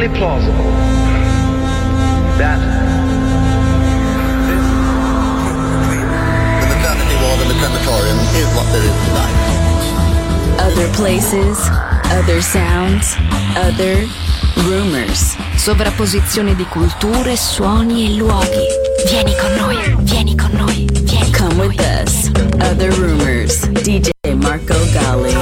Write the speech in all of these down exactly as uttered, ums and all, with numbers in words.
perfectly plausible that the maternity ward in the crematorium is what there is tonight. Other places, other sounds, other rumors. Sovrapposizione di culture, suoni e luoghi. Vieni con noi, vieni con noi, vieni con Come noi. With us. Other rumors. D J Marco Gally.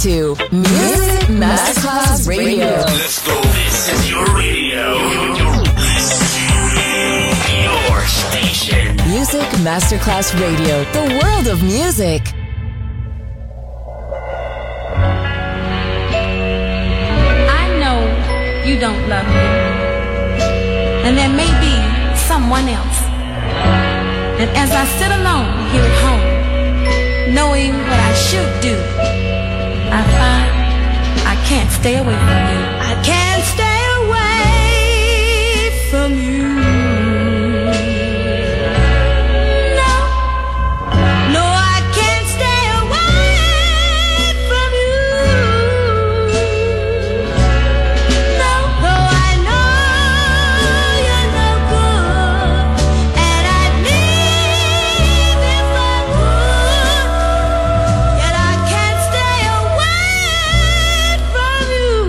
to Music Masterclass Radio. Let's go. This is your radio. Your station. Music Masterclass Radio. The world of music. I know you don't love me. And there may be someone else. And as I sit alone here at home, knowing what I should do, I find I can't stay away from you. I can't stay away from you. No, no, I can't stay away from you. No, no, I know you're no good, and I'd leave if I could. Yet I can't stay away from you.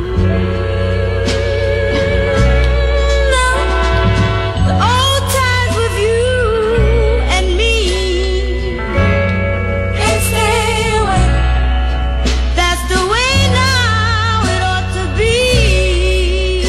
No, the old times with you and me can't stay away. That's the way now it ought to be.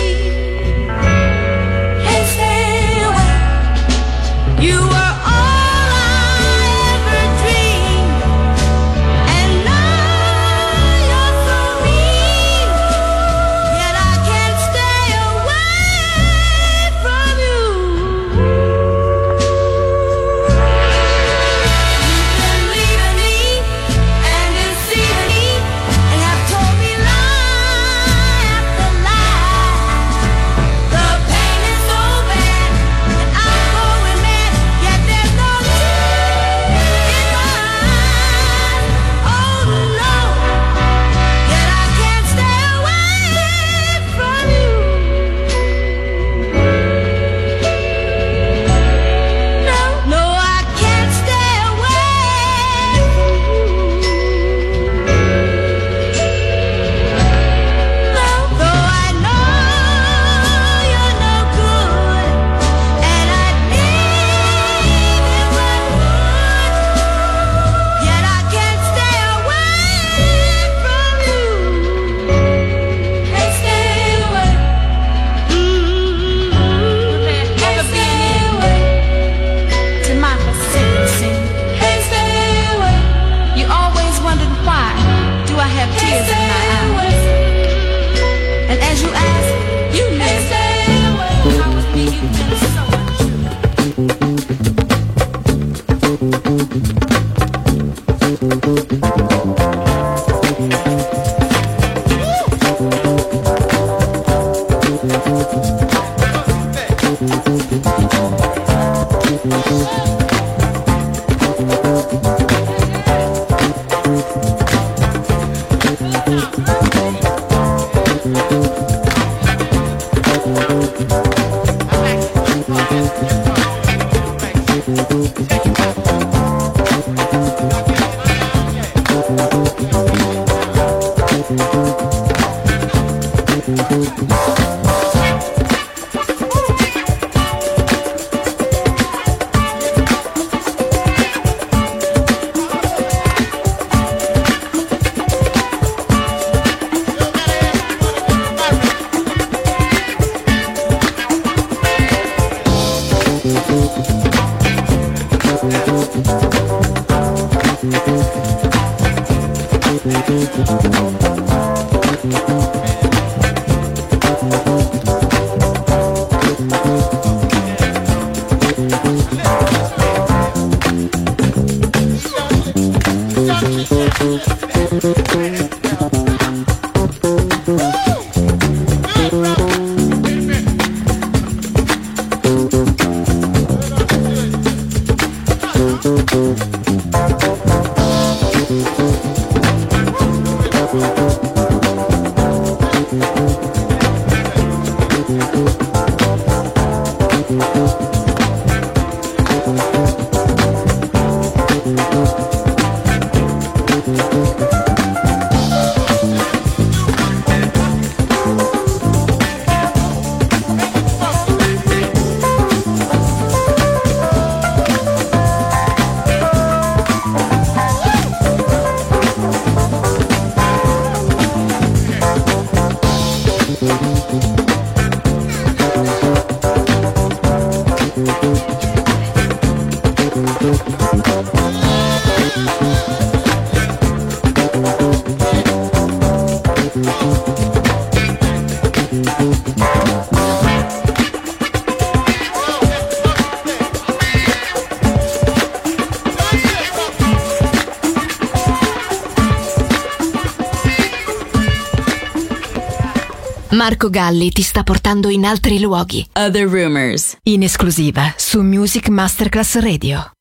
Can't stay away. You were all I ever dreamed, and now you're so mean. Yet I can't stay away from you. You've been leaving me and deceiving me, and have told me lie after lie. The pain is so bad, and I'm going mad. Yet there's no tears in my eyes. Oh no, yet I can't stay away from you. No, no, I can't stay away from you. No, though I know you're no good, and I'd leave if I would. Yet I can't stay away from you. Can't stay away. Can't stay away. To my persistency. Can't stay away. You always wondered why do I have tears in my eyes. And as you ask, you knew I was being used so much. Marco Galli ti sta portando in altri luoghi. Other Rumors, in esclusiva su Music Masterclass Radio.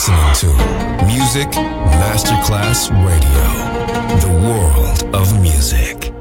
listening to Music Masterclass Radio, the world of music.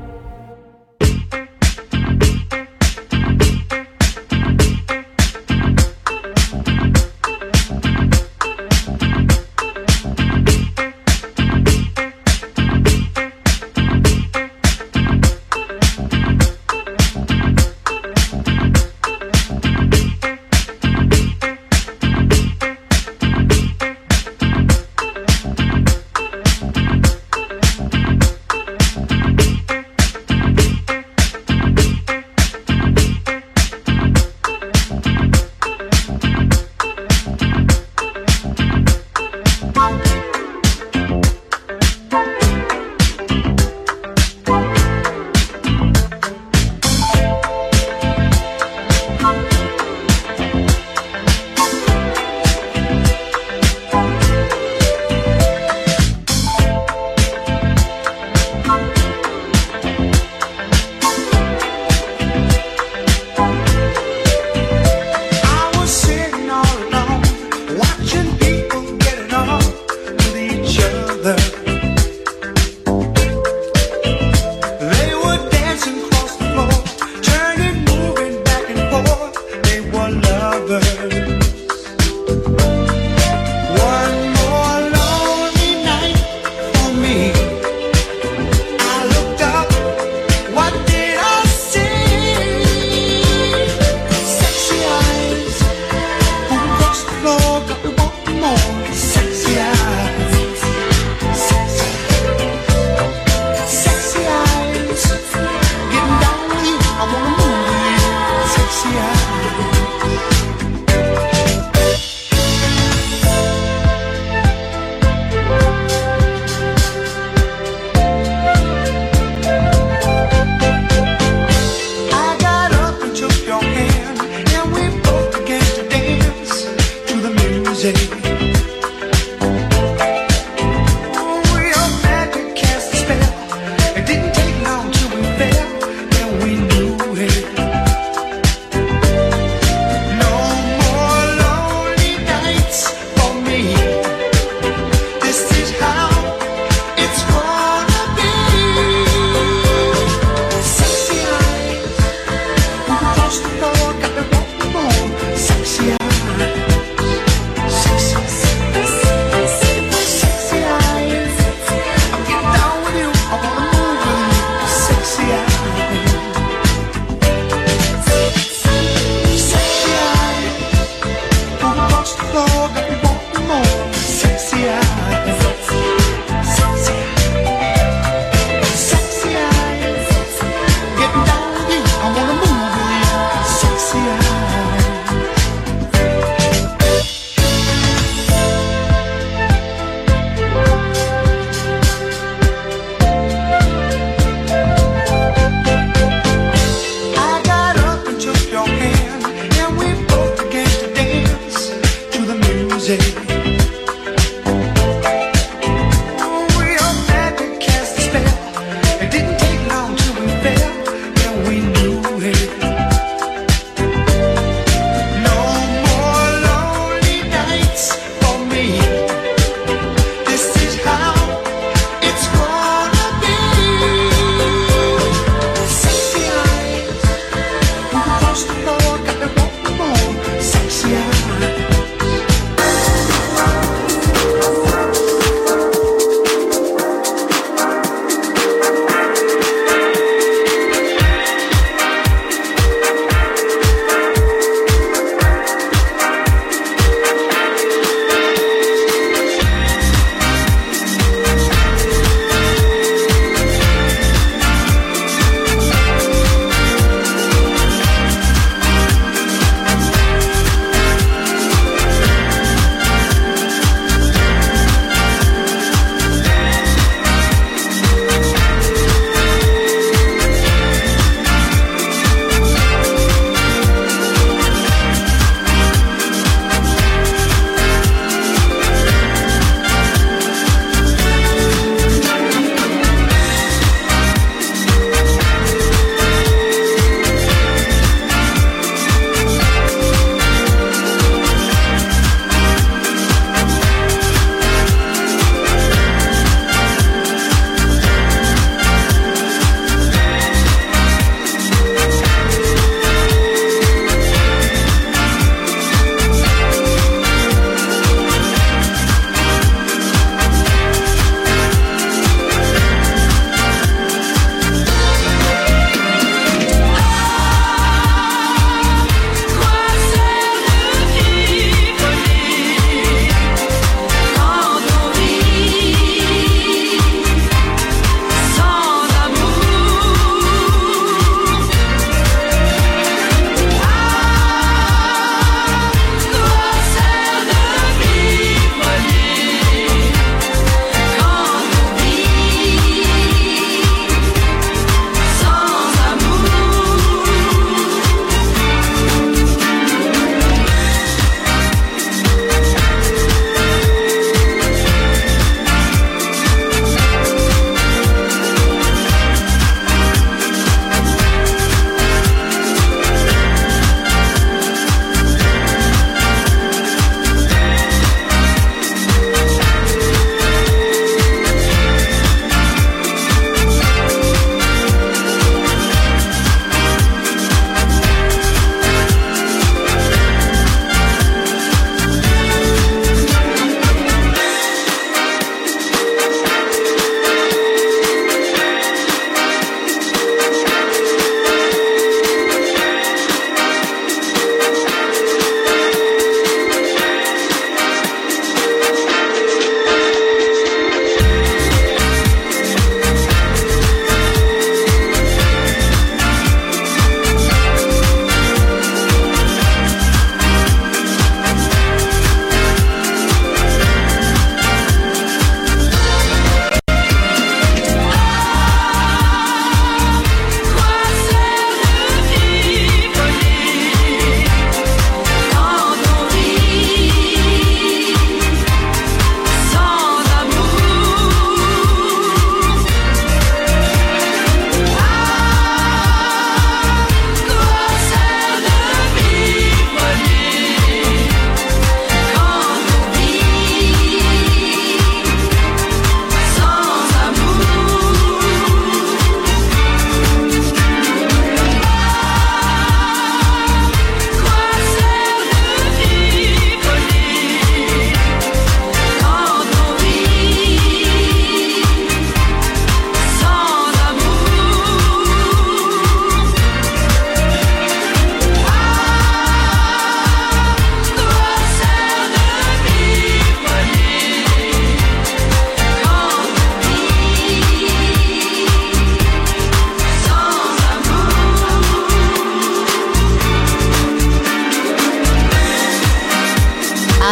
Sexy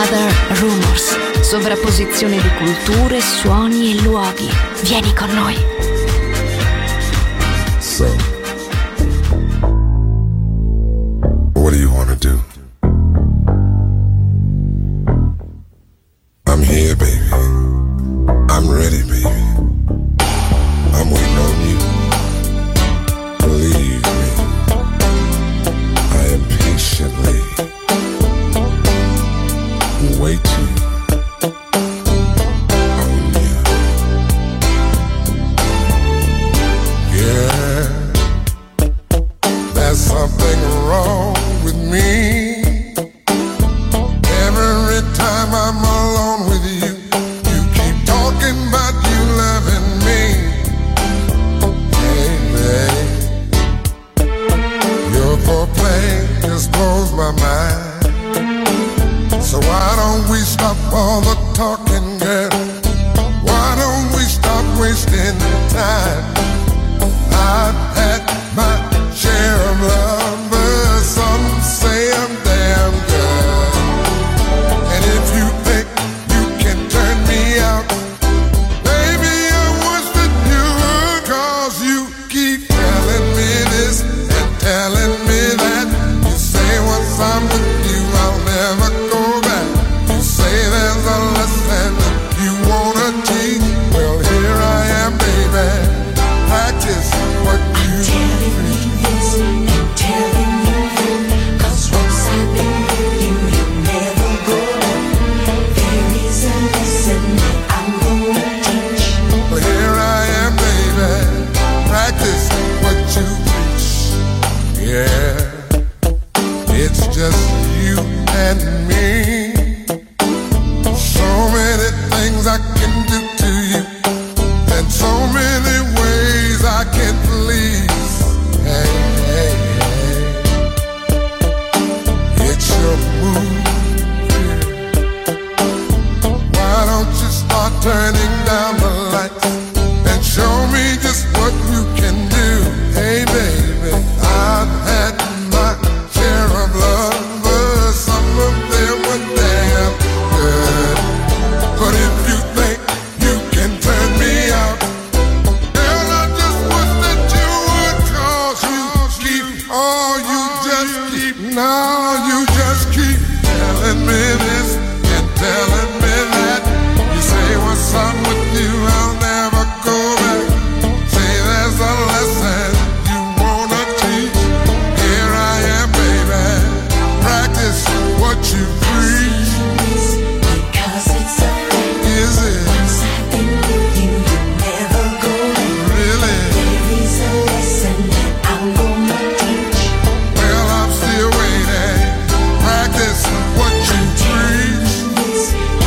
Other Rumors. Sovrapposizione di culture, suoni e luoghi. Vieni con noi. So, what do you want to do? I'm here, baby. I'm ready, baby. I'm waiting on you. Believe me, I am patiently waiting on you. Yeah, there's something wrong with me. Every time I'm alone with you, you keep talking about you loving me. Hey, babe, your foreplay just blows my mind. So why don't we stop all the talking, girl? Why don't we stop wasting time? I've had my share of lovers, some say I'm damn good. And if you think you can turn me out, baby, I wish that you would. Cause you keep telling me this and telling me that. You say once I'm with you I'll never go back. You say there's a lesson you wanna teach. Well, here I am, baby. Practice what you Telling me this and telling you that. Cause once I've been with you, you'll never go back. There is a lesson that I'm gonna teach. Well, here I am, baby. Practice what you preach. Yeah, it's just you and me. So many things I can do to you, and so many ways I can please. Hey, hey, hey, it's your move. Why don't you start turning down the lights and show me just what you can do? Hey, baby, I've had my share of lovers. Some of them were damn good. But if you think you can turn me out, girl, I just wish that you would. Cause you keep, oh, you just keep, now you just keep telling me this and telling me that. You say once I'm with you I'll never go back. Say there's a lesson you wanna teach. Here I am, baby. Practice what you preach. Because it's a fact. Is it Once I've been with you, you'll never go back. really? There is a lesson that I'm gonna teach. Well, I'm still waiting. Practice what you preach. This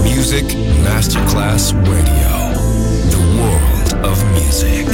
Music Masterclass Radio. The world of music.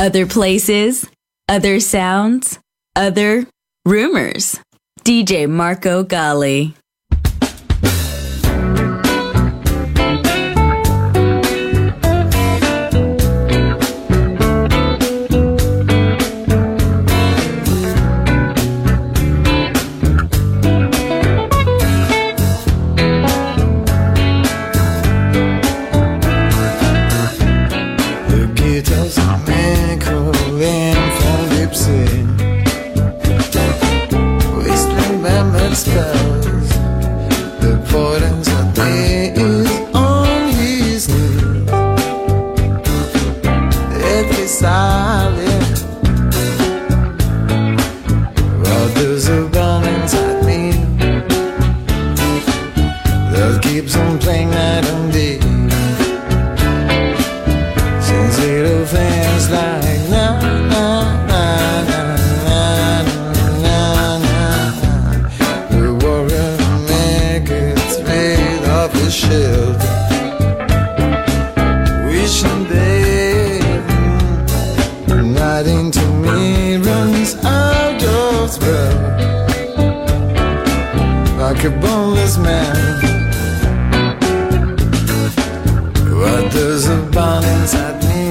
Other places, other sounds, other rumors. D J Marco Gally. Spells. The importance of me is on his knees. If he's silent, well, there's a gun inside me that keeps on playing night and day. Since little things like na na na na. Shield, wishing they right into me runs out of spell like a boneless man. But there's a bond inside me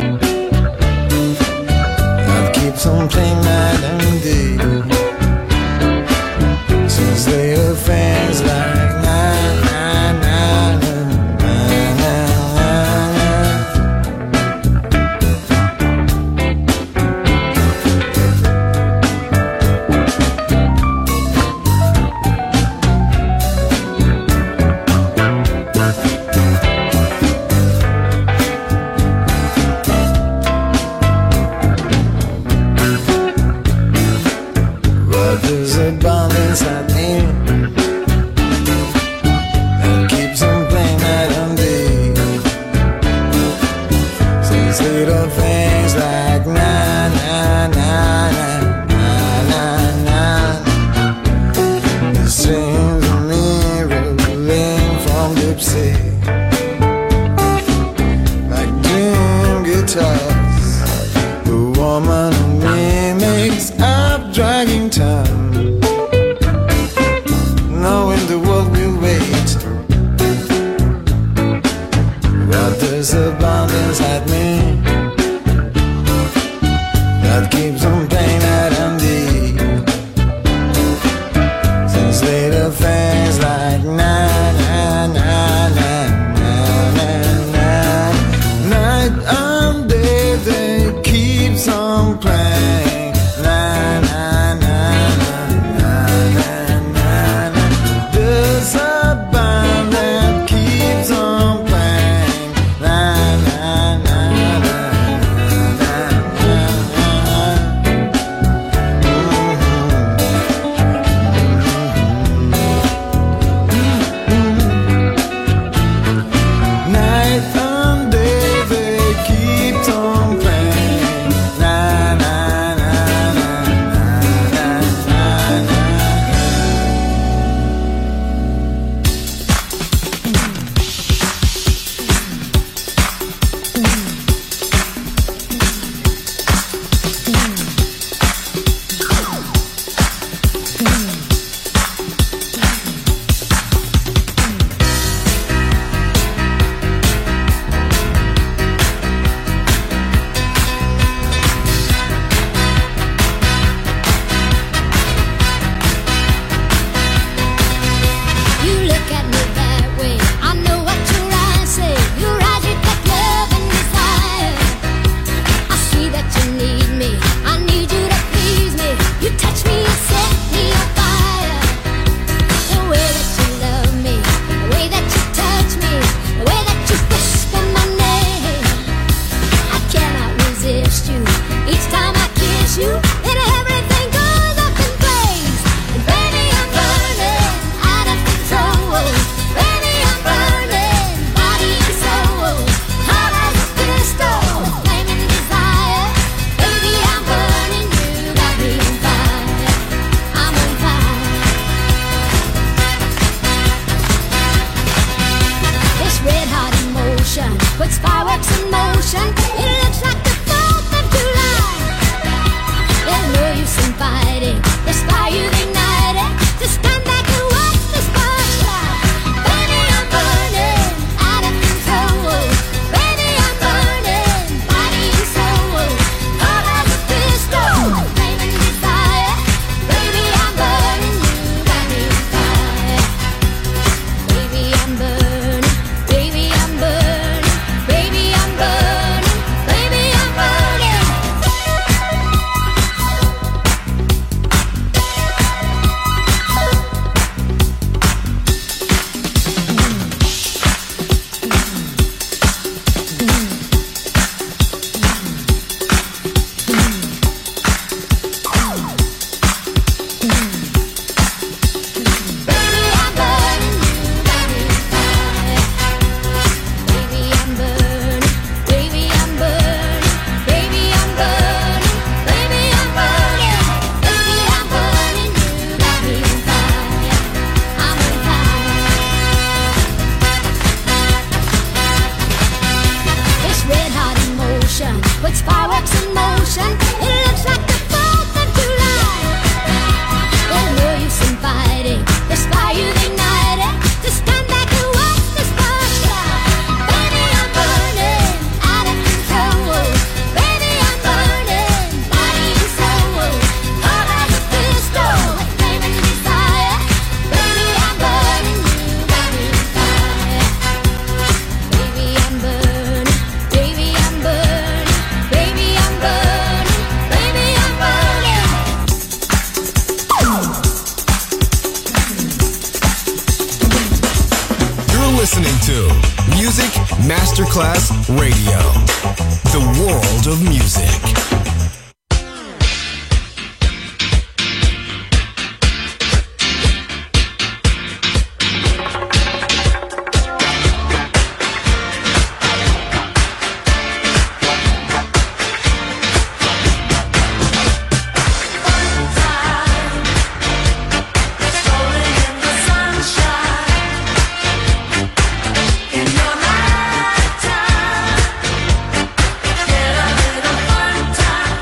that keeps on playing night and day. Since little things like inside me listening to Music Masterclass Radio, the world of music. Time.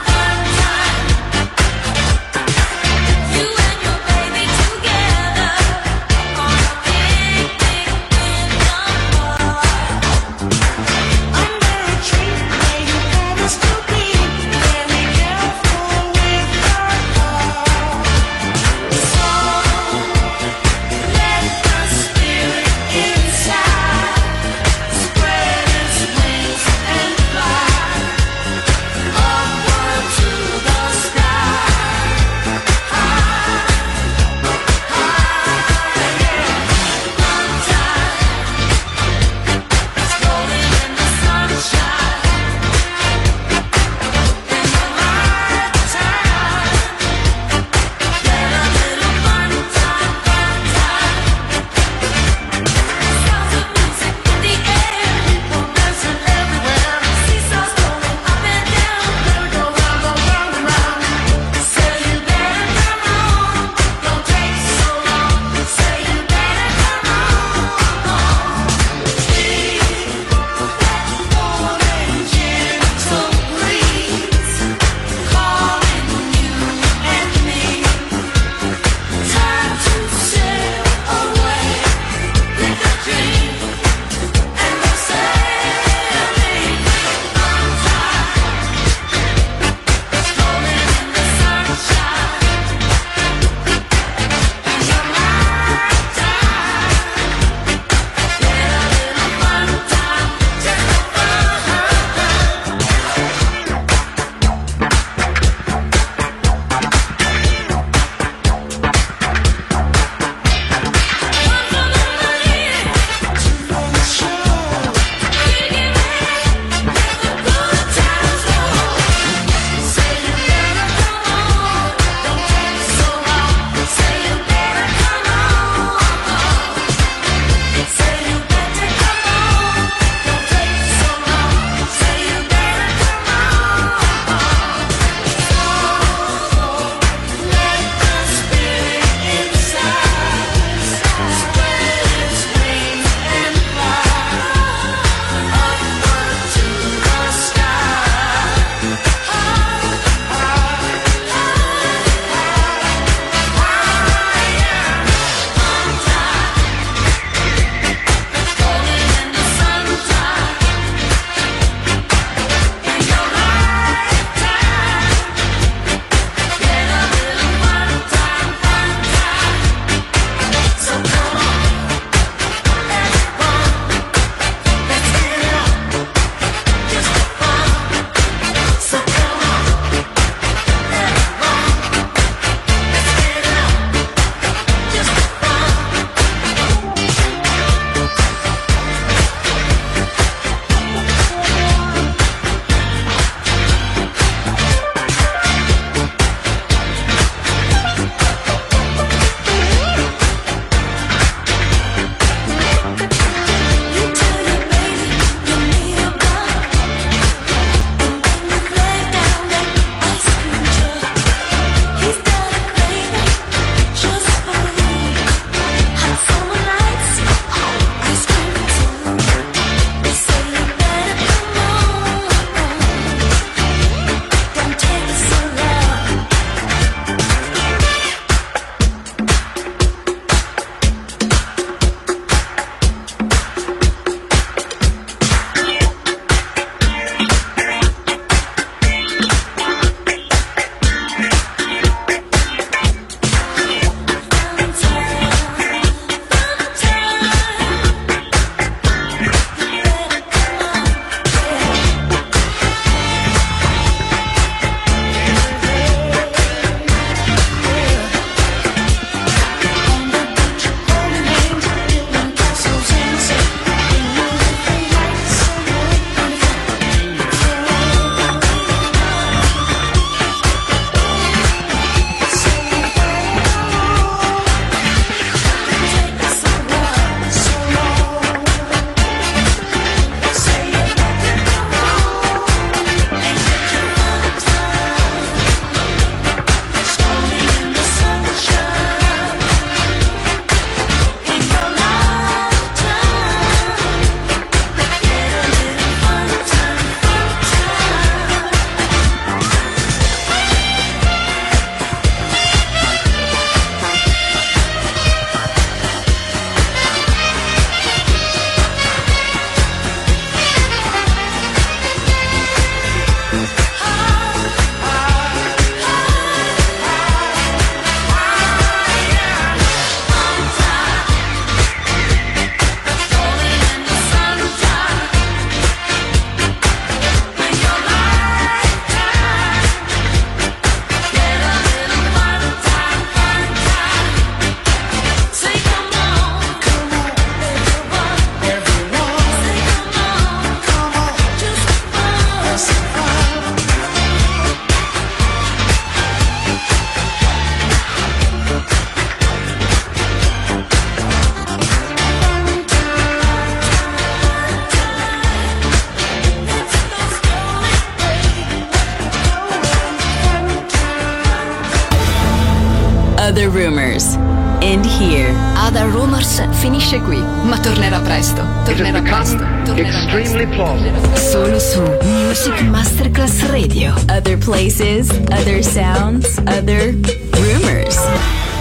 Other Rumors. And here, Other Rumors finisce qui, ma tornerà presto. Tornerà It has presto. become Tornerà extremely presto. plausible. Solo su Music Masterclass Radio. Other places, other sounds, other rumors.